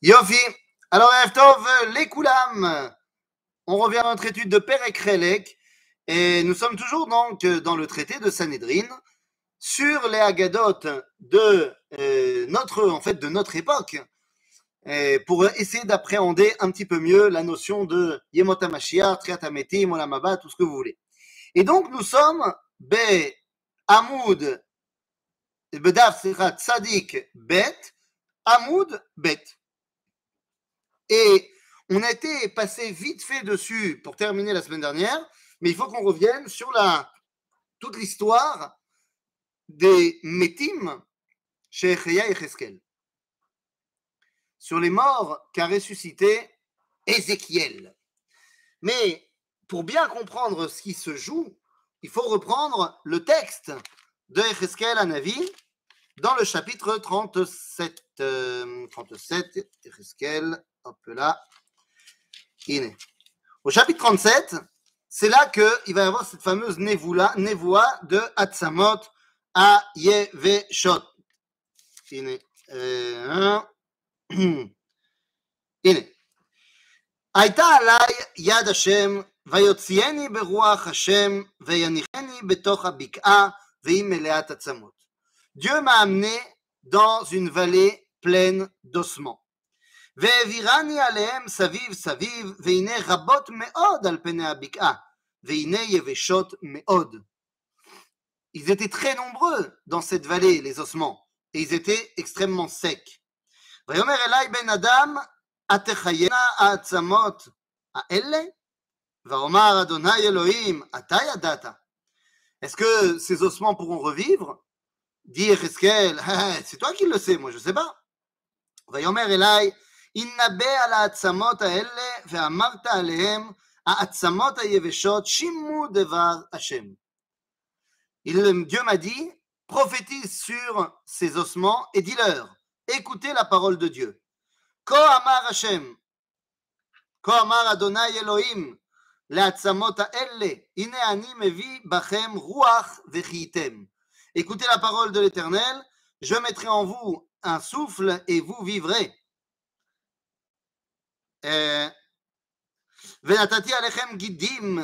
Yofi. Alors, Erev Tov, les Koulam. On revient à notre étude de Perek Relek et nous sommes toujours donc dans le traité de Sanhedrin sur les Haggadot de notre époque pour essayer d'appréhender un petit peu mieux la notion de Yemot HaMashiach, Triat HaMetim, Olam Haba, tout ce que vous voulez. Et donc nous sommes Be Amoud Bedaf Tzadik Bet Amoud Bet. Et on a été passé vite fait dessus pour terminer la semaine dernière, mais il faut qu'on revienne sur toute l'histoire des Metim chez Echaya et Cheskel, sur les morts qu'a ressuscité Ézéchiel. Mais pour bien comprendre ce qui se joue, il faut reprendre le texte de Echeskel Hanavi dans le chapitre 37. 37, Echeskel, hop là. Au chapitre 37, c'est là qu'il va y avoir cette fameuse névoie de Atzamot à Yeveshot. הייתה עליי יד השם ויוציאני ברוח השם ויניחני בתוך הבקעה והיא מלאת עצמות. Dieu m'a amené dans une vallée pleine d'ossements. והעבירני עליהם סביב סביב, והנה רבות מאוד על פני הבקעה, והנה יבשות מאוד. Ils étaient très nombreux dans cette vallée, les ossements, et ils étaient extrêmement secs. ויאמר אלי בן אדם, התחיינה העצמות האלה? ואומר אדוני אלוהים, אתה ידעת. Est-ce que ces ossements pourront revivre? Dit Echeskel, c'est toi qui le sais, moi je ne sais pas. ויאמר אלי, הנבא על העצמות האלה ואמרת עליהם העצמות היבשות שימו דבר השם. Dieu m'a dit, prophétise sur ces ossements et dis-leur, écoutez la parole de Dieu. כה אמר השם, כה אמר אדוני אלוהים לעצמות האלה, הנה אני מביא בכם רוח וחייתם. Écoutez la parole de l'Éternel, je mettrai en vous un souffle et vous vivrez. ונתתי עליכם גידים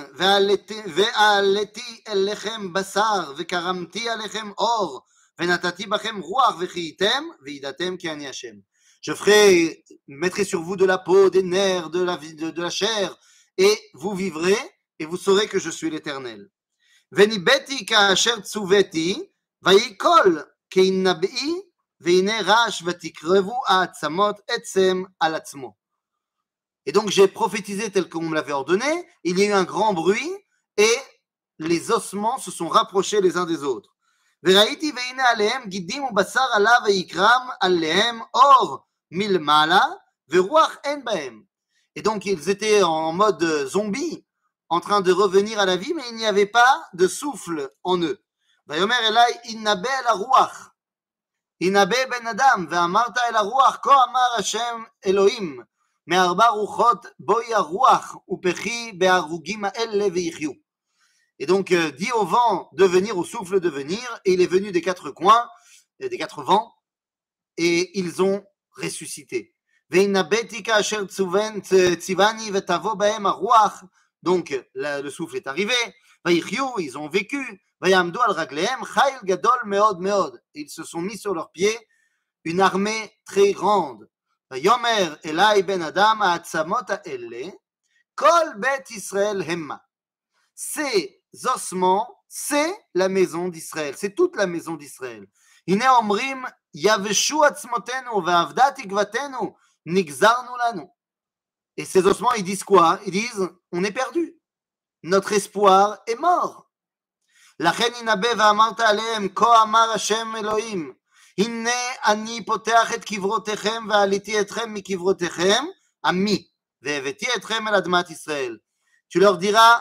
ועליתי אליכם בשר וקרמתי עליכם אור ונתתי בכם רוח וחייתם וידעתם כי אני השם. Je mettrai sur vous de la peau, des nerfs, de la chair et vous vivrez et vous saurez que je suis l'Éternel. וניבאתי כאשר צוויתי ויקול כנבאי והנה רעש ותקרבו העצמות עצם על עצמו. Et donc j'ai prophétisé tel qu'on me l'avait ordonné, il y a eu un grand bruit et les ossements se sont rapprochés les uns des autres. וראיתי והנה עליהם גידים ובשר עלה ויקרם עליהם אור מלמעלה ורוח אין בהם. Et donc ils étaient en mode zombie, en train de revenir à la vie, mais il n'y avait pas de souffle en eux. ויאמר אלי הנבא אל הרוח, הנבא בן אדם, ואמרת אל הרוח, כה אמר השם אלוהים, מארבע רוחות בואי הרוח ופחי בהרוגים האלה ויחיו. Et donc dit au vent de venir, au souffle de venir, et il est venu des quatre coins, des quatre vents, et ils ont ressuscité. והנבאתי כאשר ציווני ותבוא בהם הרוח. Donc le souffle est arrivé, ויחיו, ils ont vécu, ויעמדו על רגליהם חיל גדול מאוד מאוד. Ils se sont mis sur leurs pieds une armée très grande. ויאמר אלי בן אדם העצמות האלה כל בית ישראל המה. Ces ossements, c'est la maison d'Israël, c'est toute la maison d'Israël. הנה אומרים יבשו עצמותינו ואבדה תקוותנו נגזרנו לנו. Et ces ossements, ils disent quoi? Ils disent, on est perdu. Notre espoir est mort. לכן ינבא ואמרת עליהם, כה אמר השם אלוהים, הנה אני פותח את קברותיכם ועליתי אתכם מקברותיכם, עמי, והבאתי אתכם אל אדמת ישראל. Tu leur diras,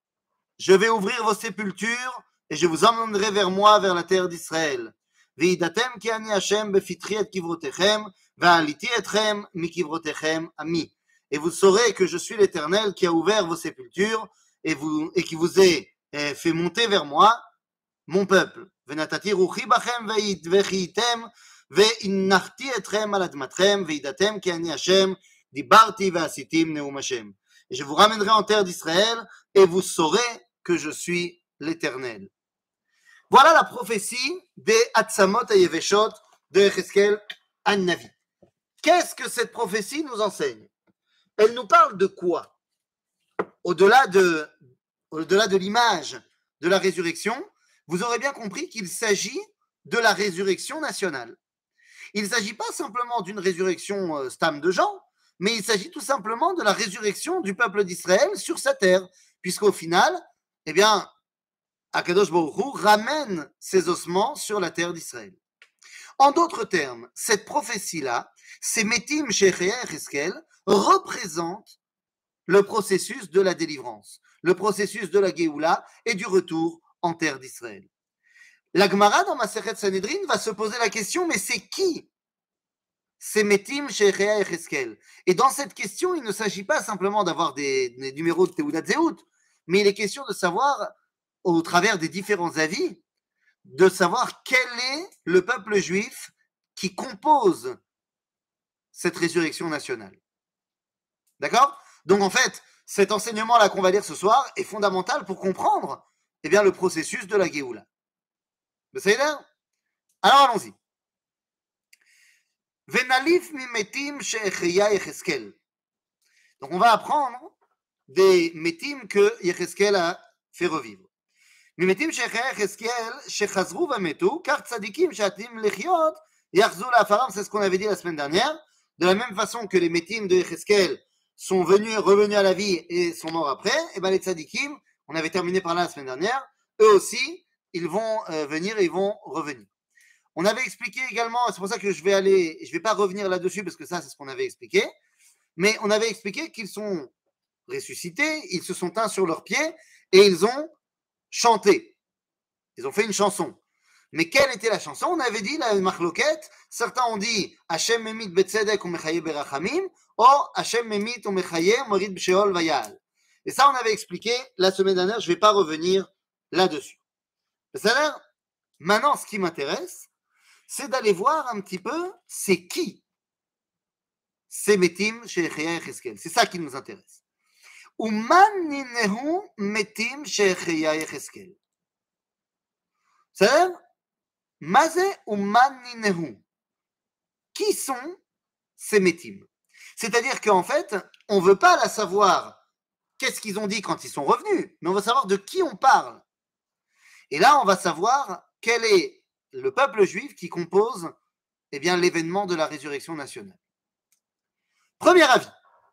je vais ouvrir vos sépultures et je vous emmènerai vers moi, vers la terre d'Israël. וידעתם כי אני השם בפתחי את קברותיכם, ועליתי אתכם מקברותיכם, עמי. Et vous saurez que je suis l'Éternel qui a ouvert vos sépultures et qui vous ai fait monter vers moi, mon peuple. ונתתי רוחי בכם וחייתם והנחתי אתכם על אדמתכם, וידעתם כי אני השם, דיברתי ועשיתים נאום השם. Et je vous ramènerai en terre d'Israël, et vous saurez que je suis l'Éternel. Voilà la prophétie des Hatzamot Hayeveshot de Yecheskel An-Navi. Qu'est-ce que cette prophétie nous enseigne? Elle nous parle de quoi? Au-delà de l'image de la résurrection, vous aurez bien compris qu'il s'agit de la résurrection nationale. Il ne s'agit pas simplement d'une résurrection stam de gens, mais il s'agit tout simplement de la résurrection du peuple d'Israël sur sa terre, puisqu'au final, eh bien, Akadosh Baruch Hu ramène ses ossements sur la terre d'Israël. En d'autres termes, cette prophétie-là, ces Metim Shecheya Yecheskel, représente le processus de la délivrance, le processus de la Géoula et du retour en terre d'Israël. La Gemara dans Masechet Sanhedrin va se poser la question, mais c'est qui ces Metim Shecheya Yecheskel? Et dans cette question, il ne s'agit pas simplement d'avoir des numéros de Teudat Zeut, mais il est question de savoir, au travers des différents avis, de savoir quel est le peuple juif qui compose cette résurrection nationale. D'accord? Donc en fait, cet enseignement-là qu'on va lire ce soir est fondamental pour comprendre eh bien, le processus de la Géoula. Vous savez là? Alors allons-y. Venalif mimetim shecheya Yecheskel. Donc on va apprendre des métim que Yecheskel a fait revivre. מימתים shecheya Yecheskel shechazru vametu, car tzadikim shatim lechiot yachzu la'afaram, c'est ce qu'on avait dit la semaine dernière. De la même façon que les métim de Yecheskel sont revenus à la vie et sont morts après, et bien les tzadikim, on avait terminé par là la semaine dernière, eux aussi, ils vont venir et ils vont revenir. On avait expliqué également, c'est pour ça que je vais pas revenir là-dessus parce que ça, c'est ce qu'on avait expliqué, mais on avait expliqué qu'ils sont ressuscités, ils se sont teints sur leurs pieds et ils ont chanté. Ils ont fait une chanson. Mais quelle était la chanson? On avait dit la machloket, certains ont dit Hashem memit betzedek ou mechaye berachamim, ou Hashem memit ou mechaye morit b'sheol vayal. Et ça, on avait expliqué la semaine dernière, je ne vais pas revenir là-dessus. C'est-à-dire, maintenant, ce qui m'intéresse, c'est d'aller voir un petit peu c'est qui ces Metim Shecheya Yecheskel. C'est ça qui nous intéresse. Uman ninehu Metim Shecheya Yecheskel. C'est-à-dire, Mazé Uman ninehu. Qui sont ces Metim? C'est-à-dire qu'en fait, on ne veut pas la savoir qu'est-ce qu'ils ont dit quand ils sont revenus, mais on veut savoir de qui on parle. Et là, on va savoir quel est le peuple juif qui compose eh bien, l'événement de la résurrection nationale. Premier avis.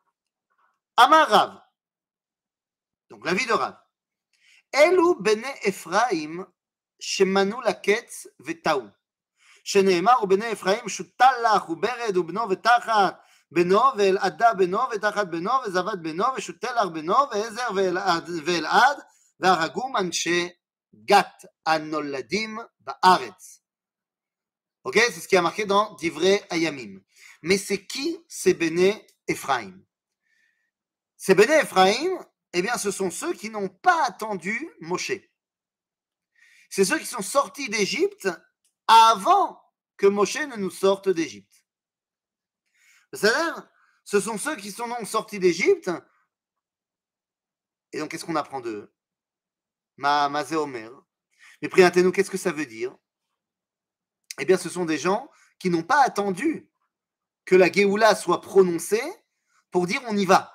Amar Rav. Donc l'avis de Rav. Elu bene Ephraim shemanu laketz vetaou. שנאמר ובני אפרים שוטל לך וברד ובנו ותחת בנו ואלעדה בנו ותחת בנו וזבת בנו ושוטל לך בנו ועזר ואלעד והרגום אנשי גת הנולדים בארץ. Ok, c'est ce qui a marqué dans Divrei Hayamim. Mais c'est qui ces Béné Ephraim? Ces Béné Ephraim, eh bien, ce sont ceux qui n'ont pas attendu Moshe. C'est ceux qui sont sortis d'Égypte avant que Moshe ne nous sorte d'Égypte. C'est-à-dire, ce sont ceux qui sont donc sortis d'Égypte. Et donc, qu'est-ce qu'on apprend d'eux? Mazé Omer. Mais Priantenu, qu'est-ce que ça veut dire? Eh bien, ce sont des gens qui n'ont pas attendu que la Géoula soit prononcée pour dire on y va.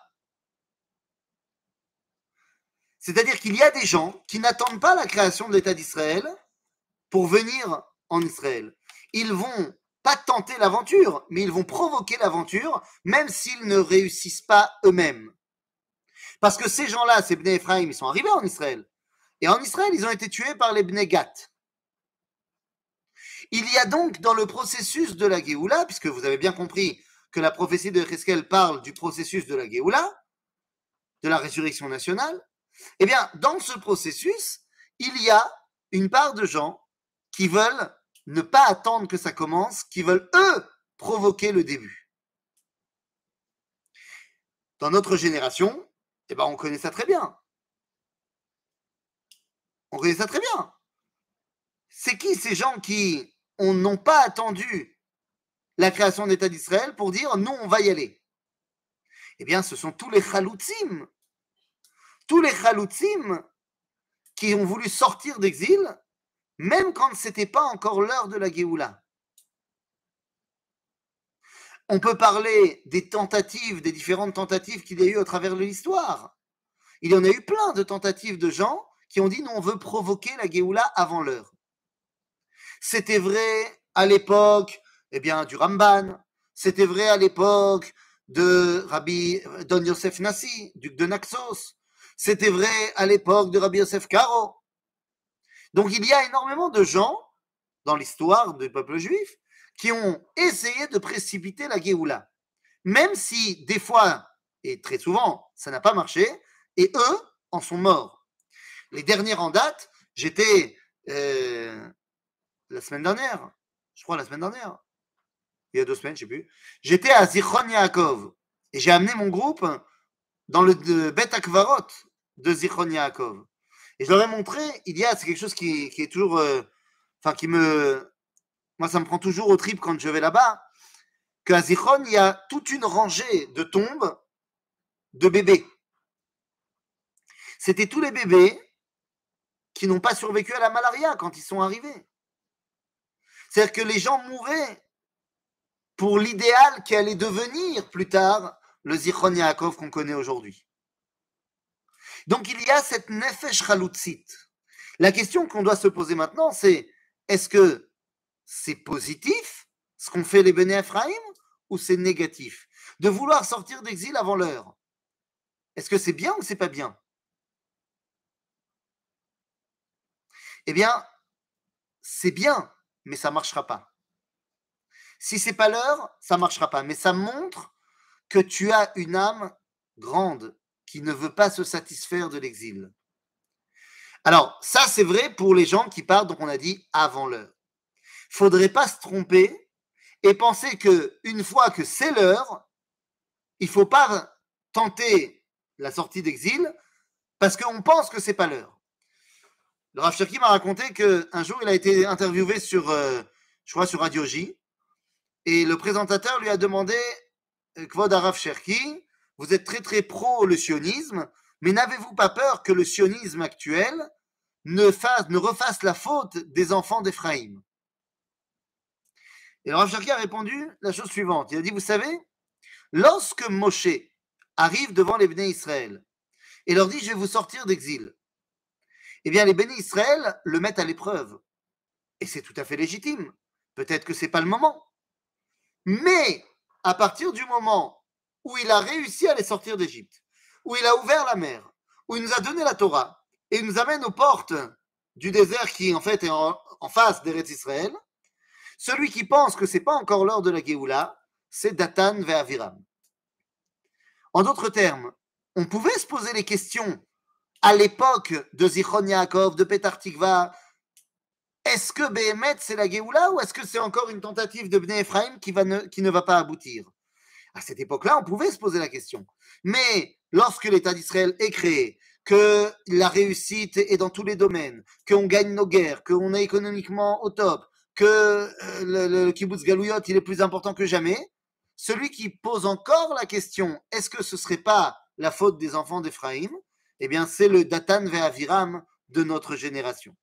C'est-à-dire qu'il y a des gens qui n'attendent pas la création de l'État d'Israël pour venir en Israël. Ils vont pas tenter l'aventure, mais ils vont provoquer l'aventure, même s'ils ne réussissent pas eux-mêmes. Parce que ces gens-là, ces Bnei Ephraim, ils sont arrivés en Israël. Et en Israël, ils ont été tués par les Bnei Gat. Il y a donc dans le processus de la Géoula, puisque vous avez bien compris que la prophétie de Yecheskel parle du processus de la Géoula, de la résurrection nationale, eh bien, dans ce processus, il y a une part de gens qui veulent ne pas attendre que ça commence, qui veulent, eux, provoquer le début. Dans notre génération, eh ben, on connaît ça très bien. On connaît ça très bien. C'est qui ces gens qui n'ont pas attendu la création d'État d'Israël pour dire non, on va y aller. Eh bien, ce sont tous les chaloutsim qui ont voulu sortir d'exil, même quand ce n'était pas encore l'heure de la Géoula. On peut parler des tentatives, des différentes tentatives qu'il y a eu à travers l'histoire. Il y en a eu plein de tentatives de gens qui ont dit non, on veut provoquer la Géoula avant l'heure. C'était vrai à l'époque du Ramban, c'était vrai à l'époque de Rabbi Don Yosef Nassi, duc de Naxos, c'était vrai à l'époque de Rabbi Yosef Karo. Donc il y a énormément de gens dans l'histoire du peuple juif qui ont essayé de précipiter la Géoula, même si des fois, et très souvent, ça n'a pas marché, et eux en sont morts. Les dernières en date, j'étais la semaine dernière, il y a 2 semaines, je ne sais plus, j'étais à Zichron Yaakov, et j'ai amené mon groupe dans le Bet Akvarot de Zichron Yaakov. Et je leur ai montré, c'est quelque chose qui est toujours, moi ça me prend toujours au trip quand je vais là-bas, qu'à Zichron, il y a toute une rangée de tombes de bébés. C'était tous les bébés qui n'ont pas survécu à la malaria quand ils sont arrivés. C'est-à-dire que les gens mouraient pour l'idéal qui allait devenir plus tard le Zichron Yaakov qu'on connaît aujourd'hui. Donc il y a cette nefesh chalutzit. La question qu'on doit se poser maintenant, c'est est-ce que c'est positif ce qu'ont fait les Béné Ephraïm ou c'est négatif de vouloir sortir d'exil avant l'heure? Est-ce que c'est bien ou c'est pas bien? Eh bien, c'est bien, mais ça ne marchera pas. Si c'est pas l'heure, ça ne marchera pas. Mais ça montre que tu as une âme grande qui ne veut pas se satisfaire de l'exil. Alors, ça, c'est vrai pour les gens qui partent, donc on a dit, avant l'heure. Il ne faudrait pas se tromper et penser qu'une fois que c'est l'heure, il ne faut pas tenter la sortie d'exil parce qu'on pense que ce n'est pas l'heure. Le Rav Cherki m'a raconté qu'un jour, il a été interviewé sur, je crois, sur Radio J, et le présentateur lui a demandé Kvod Rav Cherki, vous êtes très très pro le sionisme, mais n'avez-vous pas peur que le sionisme actuel ne refasse la faute des enfants d'Éphraïm? Et le Rav Cherki a répondu la chose suivante. Il a dit, vous savez, lorsque Moshe arrive devant les Béné Israël et leur dit, je vais vous sortir d'exil, eh bien les Béné Israël le mettent à l'épreuve. Et c'est tout à fait légitime. Peut-être que ce n'est pas le moment. Mais à partir du moment où il a réussi à les sortir d'Égypte, où il a ouvert la mer, où il nous a donné la Torah, et il nous amène aux portes du désert qui en fait est en face d'Eretz Israël, celui qui pense que ce n'est pas encore l'heure de la Géoula, c'est Datan ve'Aviram. En d'autres termes, on pouvait se poser les questions à l'époque de Zichron Yaakov, de Petar Tikva, est-ce que Béhémet c'est la Géoula ou est-ce que c'est encore une tentative de Bnei Ephraim qui ne va pas aboutir? À cette époque-là, on pouvait se poser la question. Mais lorsque l'État d'Israël est créé, que la réussite est dans tous les domaines, qu'on gagne nos guerres, qu'on est économiquement au top, que le kibbutz Galouyot il est plus important que jamais, celui qui pose encore la question, est-ce que ce ne serait pas la faute des enfants d'Éphraïm? Eh bien, c'est le Datan ve'Aviram de notre génération.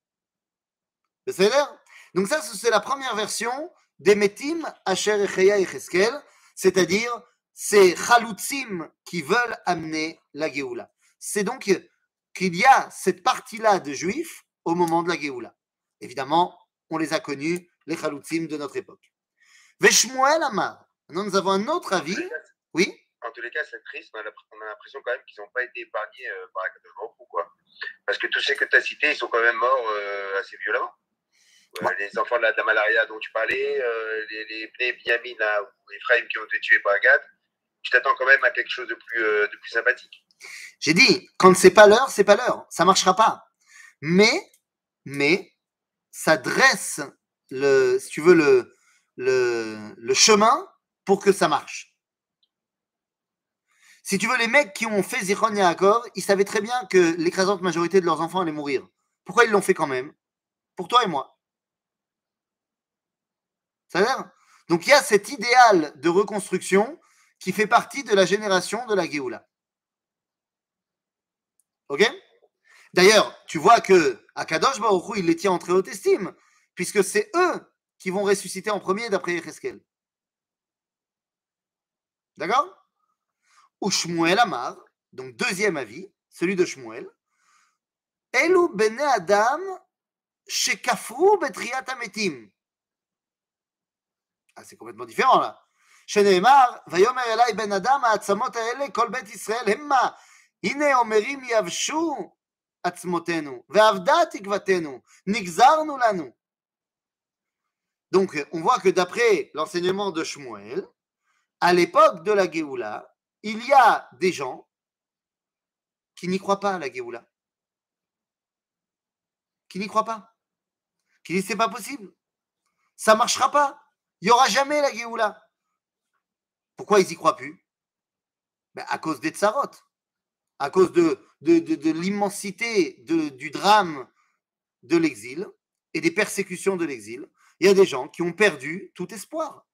Donc ça, c'est la première version des Metim, Asher Echeya et Cheskel, c'est-à-dire ces Chalutzim qui veulent amener la Géoula. C'est donc qu'il y a cette partie-là de Juifs au moment de la Géoula. Évidemment, on les a connus, les Chalutzim de notre époque. Veshmuel Amar. Maintenant, nous avons un autre avis. Oui? En tous les cas, c'est triste. On a l'impression quand même qu'ils n'ont pas été épargnés par la catastrophe. Pourquoi? Parce que tous ceux que tu as cités, ils sont quand même morts assez violemment. Les enfants de la malaria dont tu parlais, les Benyamin ou Ephraim qui ont été tués par Gad, tu t'attends quand même à quelque chose de plus sympathique. J'ai dit, quand c'est pas l'heure, c'est pas l'heure. Ça marchera pas. Mais ça dresse si tu veux, le chemin pour que ça marche. Si tu veux, les mecs qui ont fait Zichron Yaakov, ils savaient très bien que l'écrasante majorité de leurs enfants allaient mourir. Pourquoi ils l'ont fait quand même? Pour toi et moi. Ça a l'air? Donc il y a cet idéal de reconstruction qui fait partie de la génération de la Géoula. Ok? D'ailleurs, tu vois que Akadosh Baruch Hu, il les tient en très haute estime, puisque c'est eux qui vont ressusciter en premier d'après Yecheskel. D'accord? Ou Shmuel Amar, donc deuxième avis, celui de Shmuel. Elu bene Adam shekafru betriat hametim. Ah, c'est complètement différent là. שנאמר, ויאמר אלי בן אדם העצמות האלה כל בית ישראל המה, הנה אומרים יבשו עצמותינו, ואבדה תקוותנו, נגזרנו לנו. Donc, on voit que d'après l'enseignement de Shmuel, à l'époque de la Géoula, il y a des gens qui n'y croient pas à la Géoula. Qui n'y croient pas. Qui disent c'est pas possible. Ça ne marchera pas. Il n'y aura jamais la Géoula. Pourquoi ils n'y croient plus? Ben, à cause des tsarot, à cause de l'immensité du drame de l'exil et des persécutions de l'exil. Il y a des gens qui ont perdu tout espoir.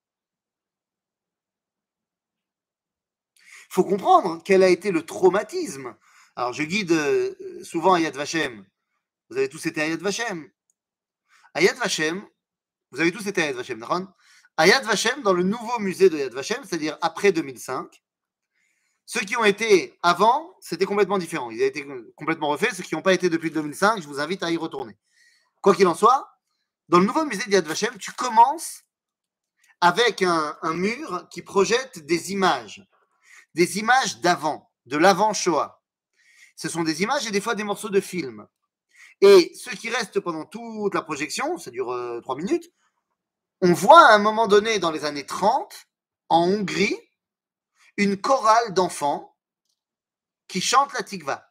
Il faut comprendre quel a été le traumatisme. Alors, je guide souvent à Yad Vashem. Vous avez tous été à Yad Vashem. À Yad Vashem, vous avez tous été à Yad Vashem, d'accord? À Yad Vashem, dans le nouveau musée de Yad Vashem, c'est-à-dire après 2005, ceux qui ont été avant, c'était complètement différent. Ils ont été complètement refaits. Ceux qui n'ont pas été depuis 2005, je vous invite à y retourner. Quoi qu'il en soit, dans le nouveau musée de Yad Vashem, tu commences avec un mur qui projette des images d'avant, de l'avant-Shoah. Ce sont des images et des fois des morceaux de films. Et ce qui reste pendant toute la projection, ça dure 3 minutes, on voit à un moment donné, dans les années 30, en Hongrie, une chorale d'enfants qui chantent la Tikva.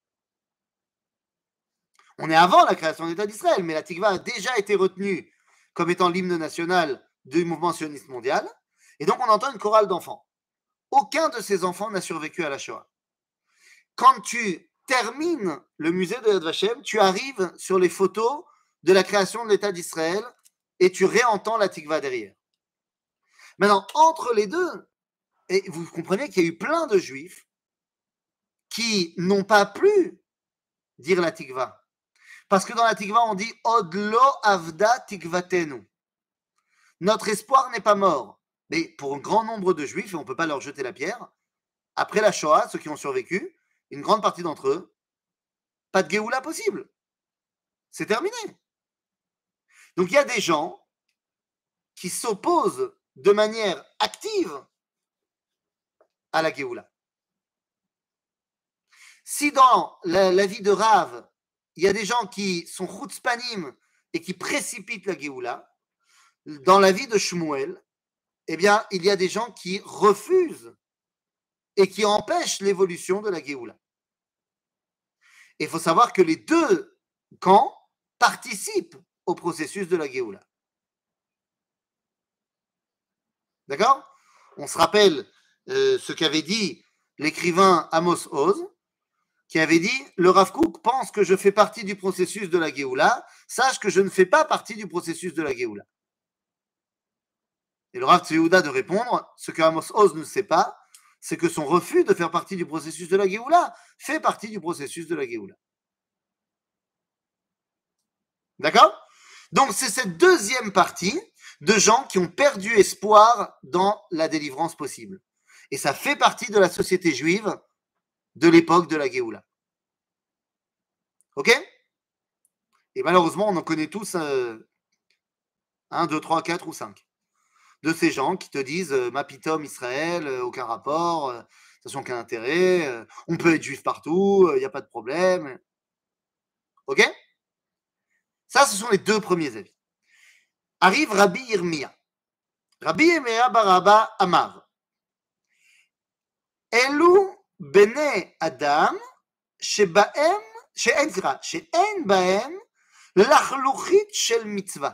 On est avant la création de l'État d'Israël, mais la Tikva a déjà été retenue comme étant l'hymne national du mouvement sioniste mondial. Et donc on entend une chorale d'enfants. Aucun de ces enfants n'a survécu à la Shoah. Quand tu termines le musée de Yad Vashem, tu arrives sur les photos de la création de l'État d'Israël et tu réentends la Tikva derrière. Maintenant, entre les deux, et vous comprenez qu'il y a eu plein de juifs qui n'ont pas pu dire la Tikva. Parce que dans la Tikva, on dit Odlo avda tikvatenu. Notre espoir n'est pas mort. Mais pour un grand nombre de juifs, et on ne peut pas leur jeter la pierre, après la Shoah, ceux qui ont survécu, une grande partie d'entre eux, pas de Géoula possible. C'est terminé. Donc il y a des gens qui s'opposent de manière active à la Géoula. Si dans la vie de Rav, il y a des gens qui sont chutzpanim et qui précipitent la Géoula, dans la vie de Shmuel, eh bien, il y a des gens qui refusent et qui empêchent l'évolution de la Géoula. Il faut savoir que les deux camps participent au processus de la Géoula. D'accord? On se rappelle ce qu'avait dit l'écrivain Amos Oz, qui avait dit « Le Rav Kook pense que je fais partie du processus de la Géoula, sache que je ne fais pas partie du processus de la Géoula. » Et le Rav Tzvi de répondre, ce que Amos Oz ne sait pas, c'est que son refus de faire partie du processus de la Géoula fait partie du processus de la Géoula. D'accord? Donc c'est cette deuxième partie de gens qui ont perdu espoir dans la délivrance possible. Et ça fait partie de la société juive de l'époque de la Géoula. Ok? Et malheureusement, on en connaît tous 1, 2, 3, 4 ou 5. De ces gens qui te disent Mapitom Israël, aucun rapport, de toute façon aucun intérêt, on peut être juif partout, il n'y a pas de problème. Ok? Ça, ce sont les deux premiers avis. Arrive Rabbi Yirmiya. Rabbi Yirmiya Baraba Amar. Elu bene Adam shebaem, she'en baem לחלוכית של מצווה.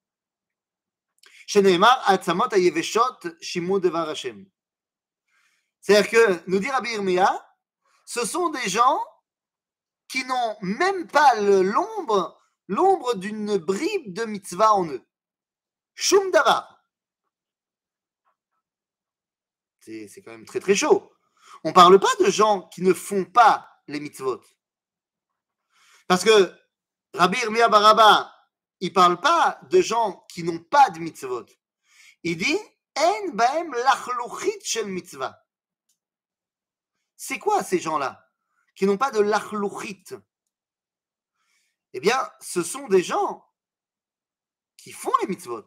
שנאמר, העצמות היבשות שימו דבר השם. C'est-à-dire que, nous dit Rabbi Yirmiya, ce sont des gens qui n'ont même pas l'ombre d'une bribe de mitzvah en eux. Shum davar. C'est quand même très très chaud. On ne parle pas de gens qui ne font pas les mitzvot. Parce que Rabbi Irmia Baraba, il ne parle pas de gens qui n'ont pas de mitzvot. Il dit En baem lachluchit shel mitzvah. C'est quoi ces gens-là qui n'ont pas de lachluchit? Eh bien, ce sont des gens qui font les mitzvot,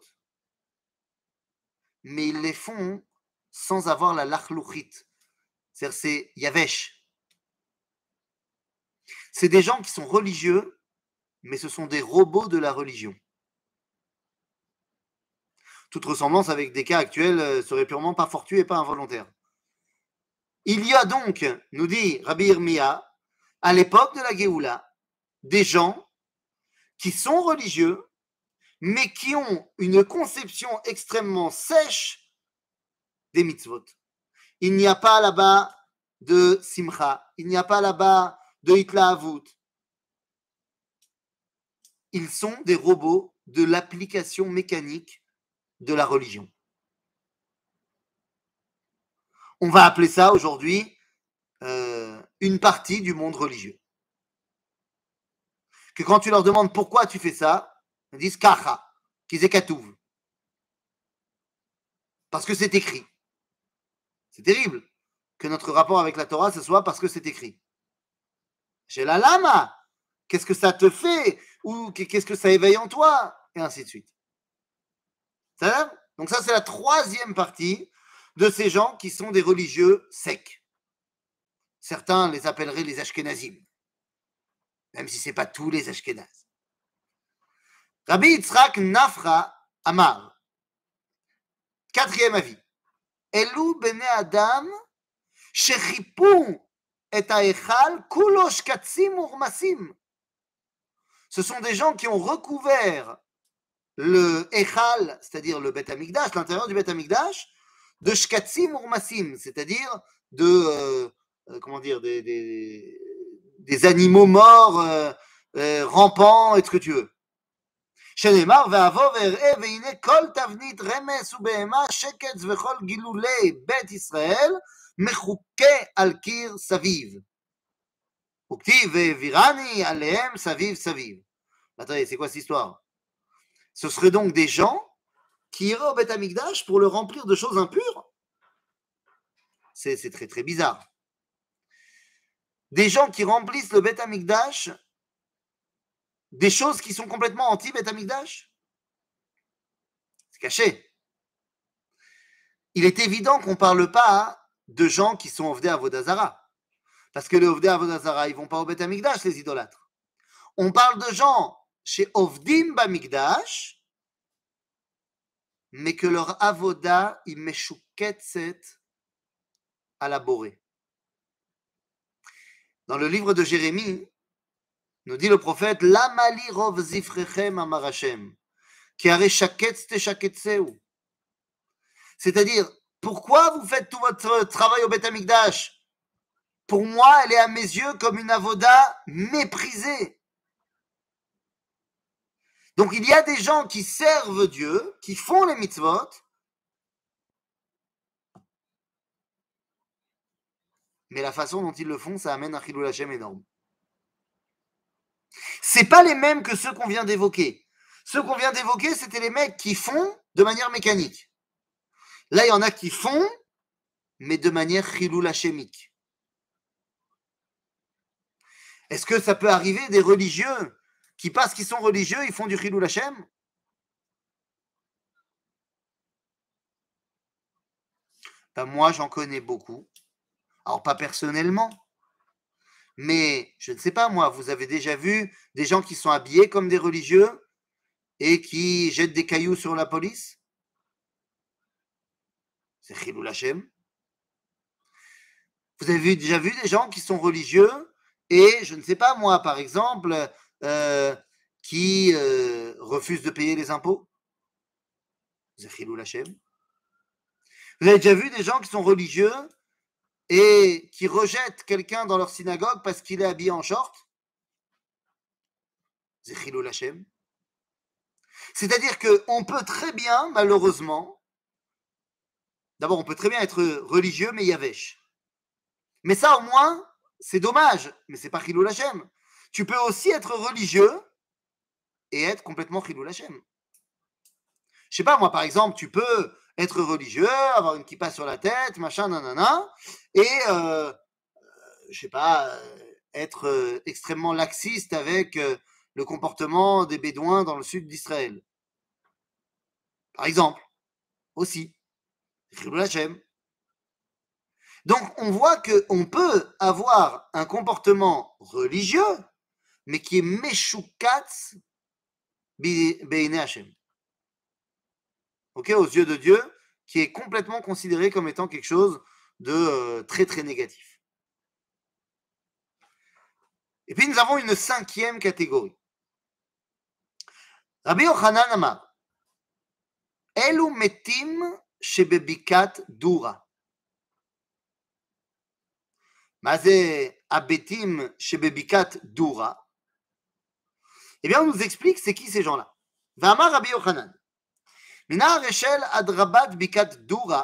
mais ils les font sans avoir la lachluchit. C'est-à-dire, c'est yavesh. C'est des gens qui sont religieux, mais ce sont des robots de la religion. Toute ressemblance avec des cas actuels serait purement pas fortuit et pas involontaire. Il y a donc, nous dit Rabbi Irmia, à l'époque de la Géoula, des gens qui sont religieux, mais qui ont une conception extrêmement sèche des mitzvot. Il n'y a pas là-bas de simcha, il n'y a pas là-bas de hitlahavut. Ils sont des robots de l'application mécanique de la religion. On va appeler ça aujourd'hui une partie du monde religieux. Que quand tu leur demandes pourquoi tu fais ça, ils disent kacha, kizekatouv. Parce que c'est écrit. C'est terrible que notre rapport avec la Torah, ce soit parce que c'est écrit. Chez la lama, qu'est-ce que ça te fait? Ou qu'est-ce que ça éveille en toi? Et ainsi de suite. Ça, donc ça, c'est la troisième partie de ces gens qui sont des religieux secs. Certains les appelleraient les Ashkenazim, même si ce n'est pas tous les Ashkenazes. Rabbi Yitzhak Nafra Amar, quatrième avis. Elou bene Adam shechipu et haechal kulo shkatzim urmasim. Ce sont des gens qui ont recouvert le echal, c'est-à-dire le Bet Hamikdash, l'intérieur du Bet Hamikdash, de shkatzim urmasim, c'est-à-dire de comment dire, des animaux morts, rampants, et ce que tu veux. שנאמר, ואבוא ואראה והנה כל תבנית רמס ובהמה שקץ וכל גילולי בית ישראל מחוקה על קיר סביב. וכתיב והעבירני עליהם סביב סביב. Attendez, c'est quoi cette histoire? Ce seraient donc des gens qui iraient au Beth Amikdash pour le remplir de choses impures? C'est très très bizarre. Des gens qui remplissent le Beth Amikdash des choses qui sont complètement anti-Beth Amikdash? C'est caché. Il est évident qu'on ne parle pas de gens qui sont Ovdei Avodah Zara. Parce que les Ovdei Avodah Zara, ils ne vont pas au Beth Amikdash, les idolâtres. On parle de gens chez Ovdim Bamikdash, mais que leur Avodah, il meshuketzet à la borée. Dans le livre de Jérémie, nous dit le prophète, Lamali rov zifrechem amar Hashem, ki are shaketz teshaketseu. C'est-à-dire, pourquoi vous faites tout votre travail au Beth Amikdash? Pour moi, elle est à mes yeux comme une avoda méprisée. Donc il y a des gens qui servent Dieu, qui font les mitzvot, mais la façon dont ils le font, ça amène un chilul Hashem énorme. C'est pas les mêmes que ceux qu'on vient d'évoquer. Ceux qu'on vient d'évoquer, c'était les mecs qui font de manière mécanique. Là, il y en a qui font, mais de manière chilul hashemique. Est-ce que ça peut arriver des religieux qui, parce qu'ils sont religieux, ils font du chilul Hashem? Ben moi, j'en connais beaucoup. Alors, pas personnellement, mais je ne sais pas, moi, vous avez déjà vu des gens qui sont habillés comme des religieux et qui jettent des cailloux sur la police? C'est chilul Hashem. Vous avez déjà vu des gens qui sont religieux et, je ne sais pas, moi, par exemple, qui refusent de payer les impôts? C'est chilul Hashem. Vous avez déjà vu des gens qui sont religieux et qui rejettent quelqu'un dans leur synagogue parce qu'il est habillé en short? C'est chilul Hashem. C'est-à-dire qu'on peut très bien, malheureusement, D'abord, on peut très bien être religieux, mais yavesh. Mais ça, au moins, c'est dommage, mais c'est pas Chilul Hashem. Tu peux aussi être religieux et être complètement Chilul Hashem. Je sais pas, moi, par exemple, tu peux être religieux, avoir une kippa sur la tête, machin, nanana, et, je sais pas, être extrêmement laxiste avec le comportement des Bédouins dans le sud d'Israël. Par exemple, aussi. Chilul Hashem. Donc, on voit qu'on peut avoir un comportement religieux, mais qui est Meshukatz Be'inei Hashem. Ok, aux yeux de Dieu, qui est complètement considéré comme étant quelque chose de très très négatif. Et puis nous avons une cinquième catégorie. Rabbi Yochanan Amar, Elu metim shebebikat dura. מה זה הבתים שבבקעת דורה? Eh bien, on nous explique c'est qui ces gens-là. ואמר רבי יוחנן, מנהר אשל עד רבת בקעת דורה,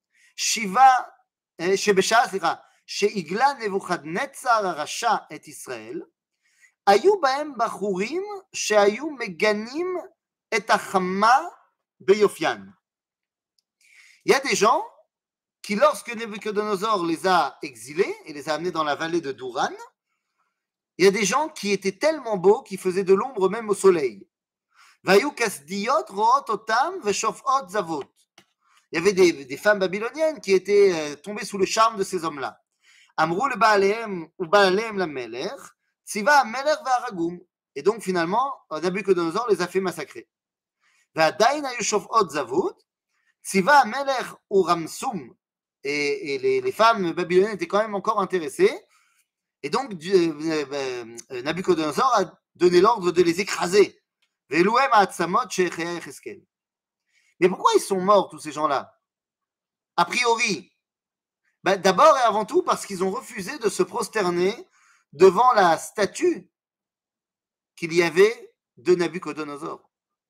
שבשעה, שהגלה נבוכדנצר הרשע את ישראל, היו בהם בחורים שהיו מגנים את החמה ביופיין. Il y a des gens qui, lorsque Nebuchadnezzar les a exilés et les a amenés dans la vallée de Douran, il y a des gens qui étaient tellement beaux qu'ils faisaient de l'ombre même au soleil. Vayu kasdiyot root otam veshofot zavot. Il y avait des femmes babyloniennes qui étaient tombées sous le charme de ces hommes-là. Amrou le Baalehem ou Baalehem la Melech, Tziva Melech va'aragum. Et donc finalement, Nabucodonosor les a fait massacrer. Va'adain hayu shofot zavot, Tziva Melech ou Ramsum. Et les femmes babyloniennes étaient quand même encore intéressées. Et donc Nabucodonosor a donné l'ordre de les écraser. Ve'eluhem ha'atzamot she'echea Yecheskel. Mais pourquoi ils sont morts, tous ces gens-là? A priori, d'abord et avant tout parce qu'ils ont refusé de se prosterner devant la statue qu'il y avait de Nabucodonosor.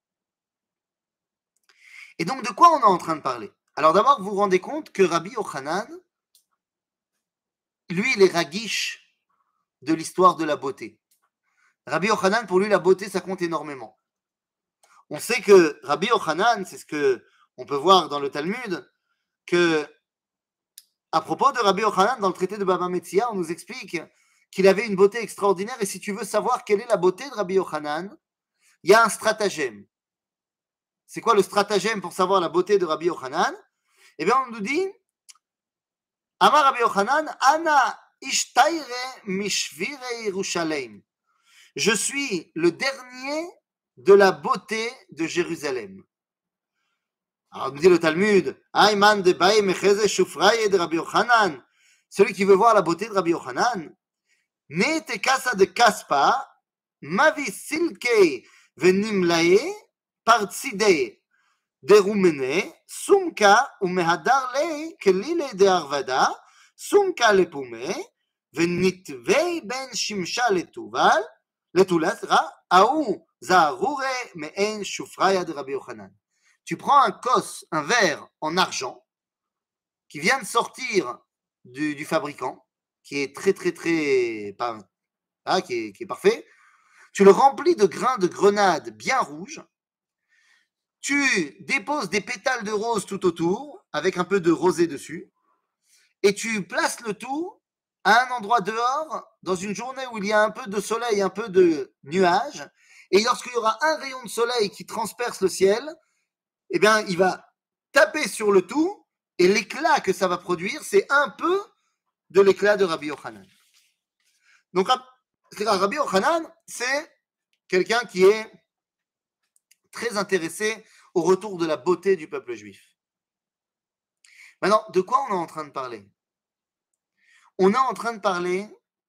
Et donc, de quoi on est en train de parler? Alors d'abord, vous vous rendez compte que Rabbi Yochanan, lui, il est ragish de l'histoire de la beauté. Rabbi Yochanan, pour lui, la beauté, ça compte énormément. On sait que Rabbi Yochanan, c'est ce que on peut voir dans le Talmud, que à propos de Rabbi Yochanan, dans le traité de Baba Metzia, on nous explique qu'il avait une beauté extraordinaire. Et si tu veux savoir quelle est la beauté de Rabbi Yochanan, il y a un stratagème. C'est quoi le stratagème pour savoir la beauté de Rabbi Yochanan? Eh bien, on nous dit Amar Rabbi Yochanan, Ana ishtayre mishvire Yerushalem. Je suis le dernier de la beauté de Jérusalem. Alors, nous dit le Talmud, Ayman de Baï Mecheze Shufraye de Rabbi Yochanan. Celui qui veut voir la beauté de Rabbi Yochanan, Ne te casa de Kaspa, Mavi Silke Venimlae, Partside de Rumene, Sumka ou Mehadar le, Kelile de Arvada, Sumka le Pume, Venitvei ben Shimsha le Tuval, le Tulasra, Aou Zaroure Mehen Shufraye de Rabbi Yochanan. Tu prends un kos, un verre en argent qui vient de sortir du fabricant, qui est très qui est parfait. Tu le remplis de grains de grenade bien rouges. Tu déposes des pétales de rose tout autour, avec un peu de rosée dessus, et tu places le tout à un endroit dehors, dans une journée où il y a un peu de soleil, un peu de nuages, et lorsqu'il y aura un rayon de soleil qui transperce le ciel, eh bien, il va taper sur le tout, et l'éclat que ça va produire, c'est un peu de l'éclat de Rabbi Yochanan. Donc, Rabbi Yochanan, c'est quelqu'un qui est très intéressé au retour de la beauté du peuple juif. Maintenant, de quoi on est en train de parler? On est en train de parler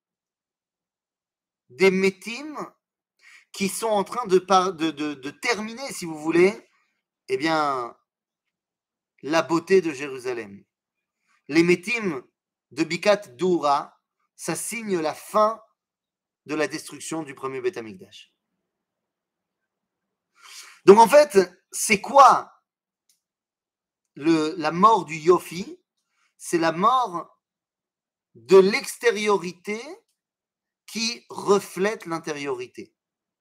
des métim qui sont en train de terminer, si vous voulez, eh bien, la beauté de Jérusalem. Les métim de Bikat Doura, ça signe la fin de la destruction du premier Beth Amikdash. Donc en fait, c'est quoi la mort du Yofi, c'est la mort de l'extériorité qui reflète l'intériorité.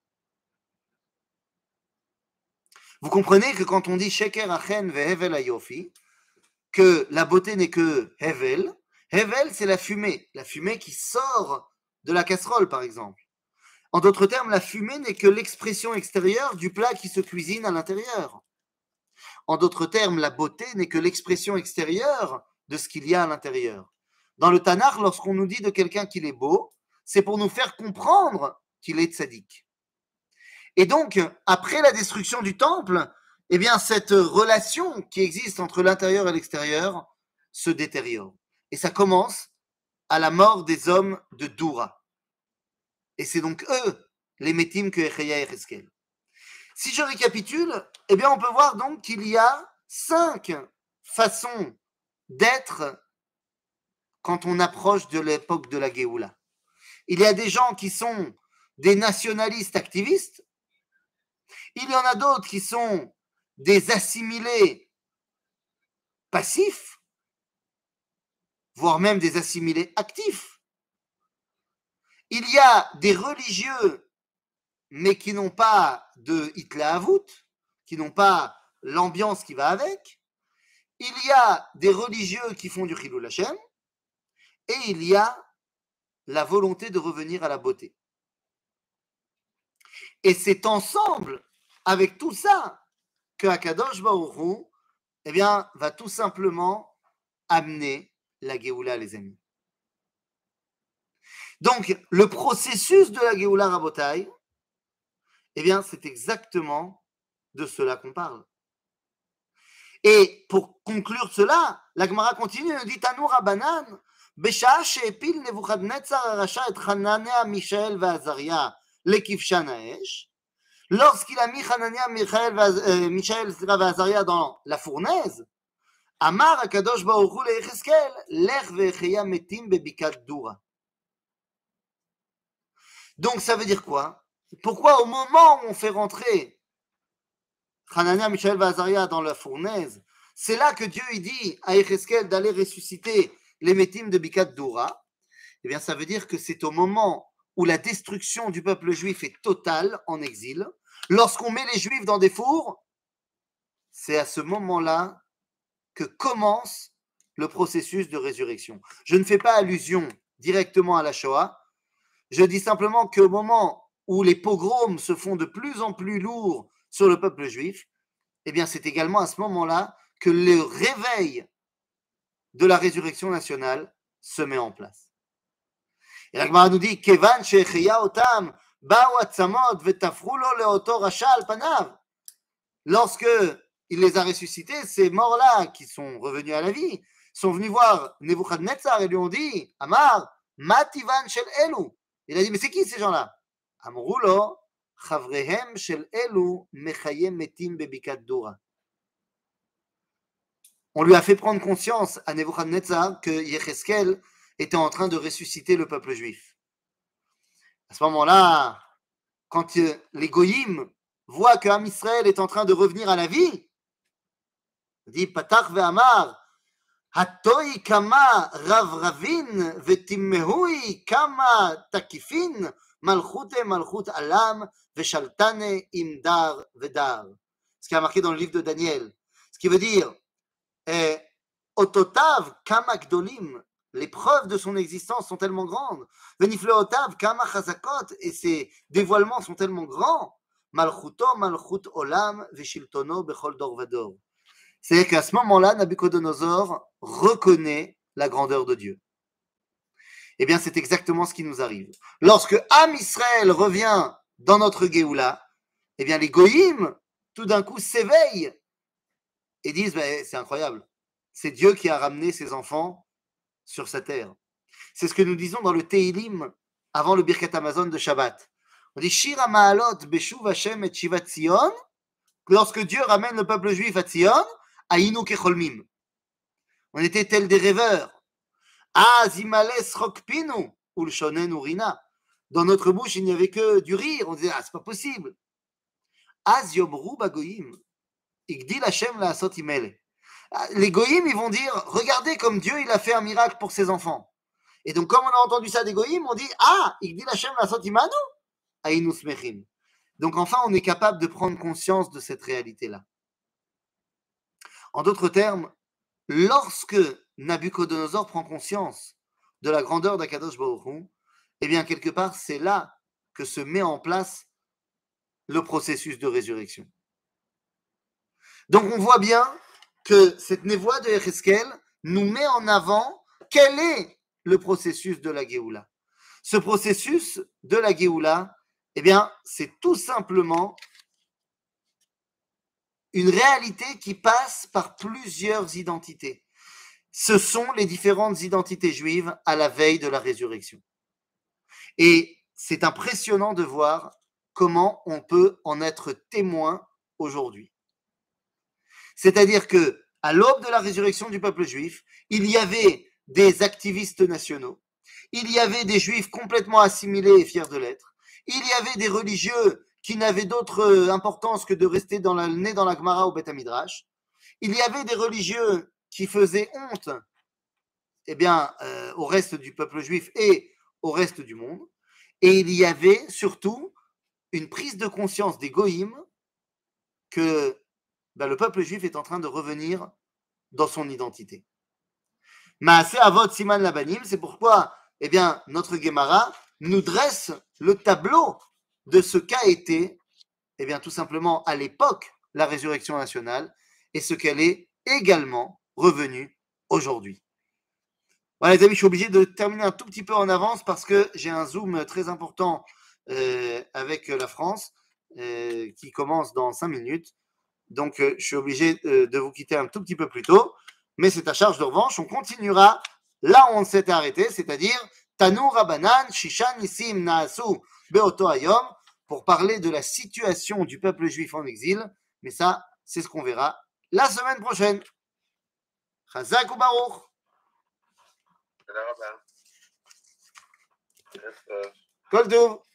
Vous comprenez que quand on dit Sheker Achen ve'Hevel Ayofi, que la beauté n'est que Hevel, Hevel c'est la fumée qui sort de la casserole par exemple. En d'autres termes, la fumée n'est que l'expression extérieure du plat qui se cuisine à l'intérieur. En d'autres termes, la beauté n'est que l'expression extérieure de ce qu'il y a à l'intérieur. Dans le Tanakh, lorsqu'on nous dit de quelqu'un qu'il est beau, c'est pour nous faire comprendre qu'il est tzaddik. Et donc, après la destruction du temple, eh bien, cette relation qui existe entre l'intérieur et l'extérieur se détériore. Et ça commence à la mort des hommes de Doura. Et c'est donc eux, les métim que Echeya et Cheskel. Si je récapitule, eh bien, on peut voir donc qu'il y a 5 façons d'être quand on approche de l'époque de la Géoula. Il y a des gens qui sont des nationalistes activistes. Il y en a d'autres qui sont des assimilés passifs, voire même des assimilés actifs. Il y a des religieux, mais qui n'ont pas de Hitler-Avut, qui n'ont pas l'ambiance qui va avec. Il y a des religieux qui font du Chilul Hashem, et il y a la volonté de revenir à la beauté. Et c'est ensemble, avec tout ça, que Akadosh Baruch Hu, eh bien, va tout simplement amener la Géoula, les amis. Donc, le processus de la Géoula Rabotai, eh bien, c'est exactement de cela qu'on parle. Et pour conclure cela, la Gemara continue, elle dit Tanu Rabbanan, Beshaa she'epil Nebuchadnezzar Rasha et Hanania, Mishaël et Azaria lekivshan ha'esh, lorsqu'il a mis Hanania, Mishaël et Azaria dans la fournaise, Amar Akadosh Baruch Hu leYecheskel, Lech ve'Echeya metim bebikat Doura. Donc ça veut dire quoi? Pourquoi au moment où on fait rentrer Hanania, Mishaël et Azaria dans la fournaise, c'est là que Dieu il dit à Yecheskel d'aller ressusciter les métim de Bikat Doura? Eh bien, ça veut dire que c'est au moment où la destruction du peuple juif est totale en exil. Lorsqu'on met les juifs dans des fours, c'est à ce moment-là que commence le processus de résurrection. Je ne fais pas allusion directement à la Shoah. Je dis simplement qu'au moment où les pogroms se font de plus en plus lourds sur le peuple juif, eh bien, c'est également à ce moment-là que le réveil de la résurrection nationale se met en place. Et la Gemara nous dit Kevan she'echeya otam ba'u atzamot vetafru lo leoto rasha al panav. Lorsque il les a ressuscités, ces morts-là qui sont revenus à la vie sont venus voir Nebuchadnezzar et lui ont dit Amar mativan shel elu. Il a dit mais c'est qui ces gens-là? Amru lo chavrehem shel elu mechayem metim bebikat Doura. On lui a fait prendre conscience à Nebuchadnezzar que Yecheskel était en train de ressusciter le peuple juif. À ce moment-là, quand les Goyim voient que Am Israël est en train de revenir à la vie, il dit Patach ve'amar Hatoi kama ravravin vetimmehui kama takifin malchute malchut alam veshaltane imdar vedar. Ce qui est marqué dans le livre de Daniel. Ce qui veut dire Ototav kama gdolim. Les preuves de son existence sont tellement grandes. Venifleotav kama chazakot, et ses dévoilements sont tellement grands. Malchuto malchut olam veshiltono bechol dor vador. C'est-à-dire qu'à ce moment-là, Nabucodonosor reconnaît la grandeur de Dieu. Eh bien, c'est exactement ce qui nous arrive. Lorsque Am Israël revient dans notre Géoula, eh bien, les Goïm, tout d'un coup, s'éveillent et disent c'est incroyable. C'est Dieu qui a ramené ses enfants sur sa terre. C'est ce que nous disons dans le Teilim avant le Birkat Hamazon de Shabbat. On dit Shir HaMa'alot Beshuv Hashem et Shivat Zion. Lorsque Dieu ramène le peuple juif à Zion, Ayinu Kecholmim. On était tels des rêveurs. Zimales Rokpinu Ulshonen Urina. Dans notre bouche, il n'y avait que du rire. On disait c'est pas possible. Az Yomru Bagoyim. Igdil Hashem La'asot Imele. Les goïms, ils vont dire, regardez comme Dieu, il a fait un miracle pour ses enfants. Et donc, comme on a entendu ça des goïms, on dit, ah, il dit l'Hachem la sotimanu, aïnou smechim. Donc, enfin, on est capable de prendre conscience de cette réalité-là. En d'autres termes, lorsque Nabucodonosor prend conscience de la grandeur d'Akadosh Baruch Hu, eh bien, quelque part, c'est là que se met en place le processus de résurrection. Donc, on voit bien que cette névoie de Yecheskel nous met en avant quel est le processus de la Géoula. Ce processus de la Géoula, eh bien, c'est tout simplement une réalité qui passe par plusieurs identités. Ce sont les différentes identités juives à la veille de la résurrection. Et c'est impressionnant de voir comment on peut en être témoin aujourd'hui. C'est-à-dire que à l'aube de la résurrection du peuple juif, il y avait des activistes nationaux, il y avait des juifs complètement assimilés et fiers de l'être, il y avait des religieux qui n'avaient d'autre importance que de rester nés dans la Gemara au Beth Midrash, il y avait des religieux qui faisaient honte au reste du peuple juif et au reste du monde, et il y avait surtout une prise de conscience des goïms que le peuple juif est en train de revenir dans son identité. Maaseh Avot Siman Labanim, c'est pourquoi notre Gemara nous dresse le tableau de ce qu'a été tout simplement à l'époque la résurrection nationale et ce qu'elle est également revenue aujourd'hui. Voilà les amis, je suis obligé de terminer un tout petit peu en avance parce que j'ai un zoom très important avec la France qui commence dans 5 minutes. Donc, je suis obligé de vous quitter un tout petit peu plus tôt, mais c'est à charge de revanche. On continuera là où on s'était arrêté, c'est-à-dire Tanu Rabanan, Shishan Nissim Naasu Beoto Hayom, pour parler de la situation du peuple juif en exil. Mais ça, c'est ce qu'on verra la semaine prochaine. Chazak ou Baruch. Kol Tov.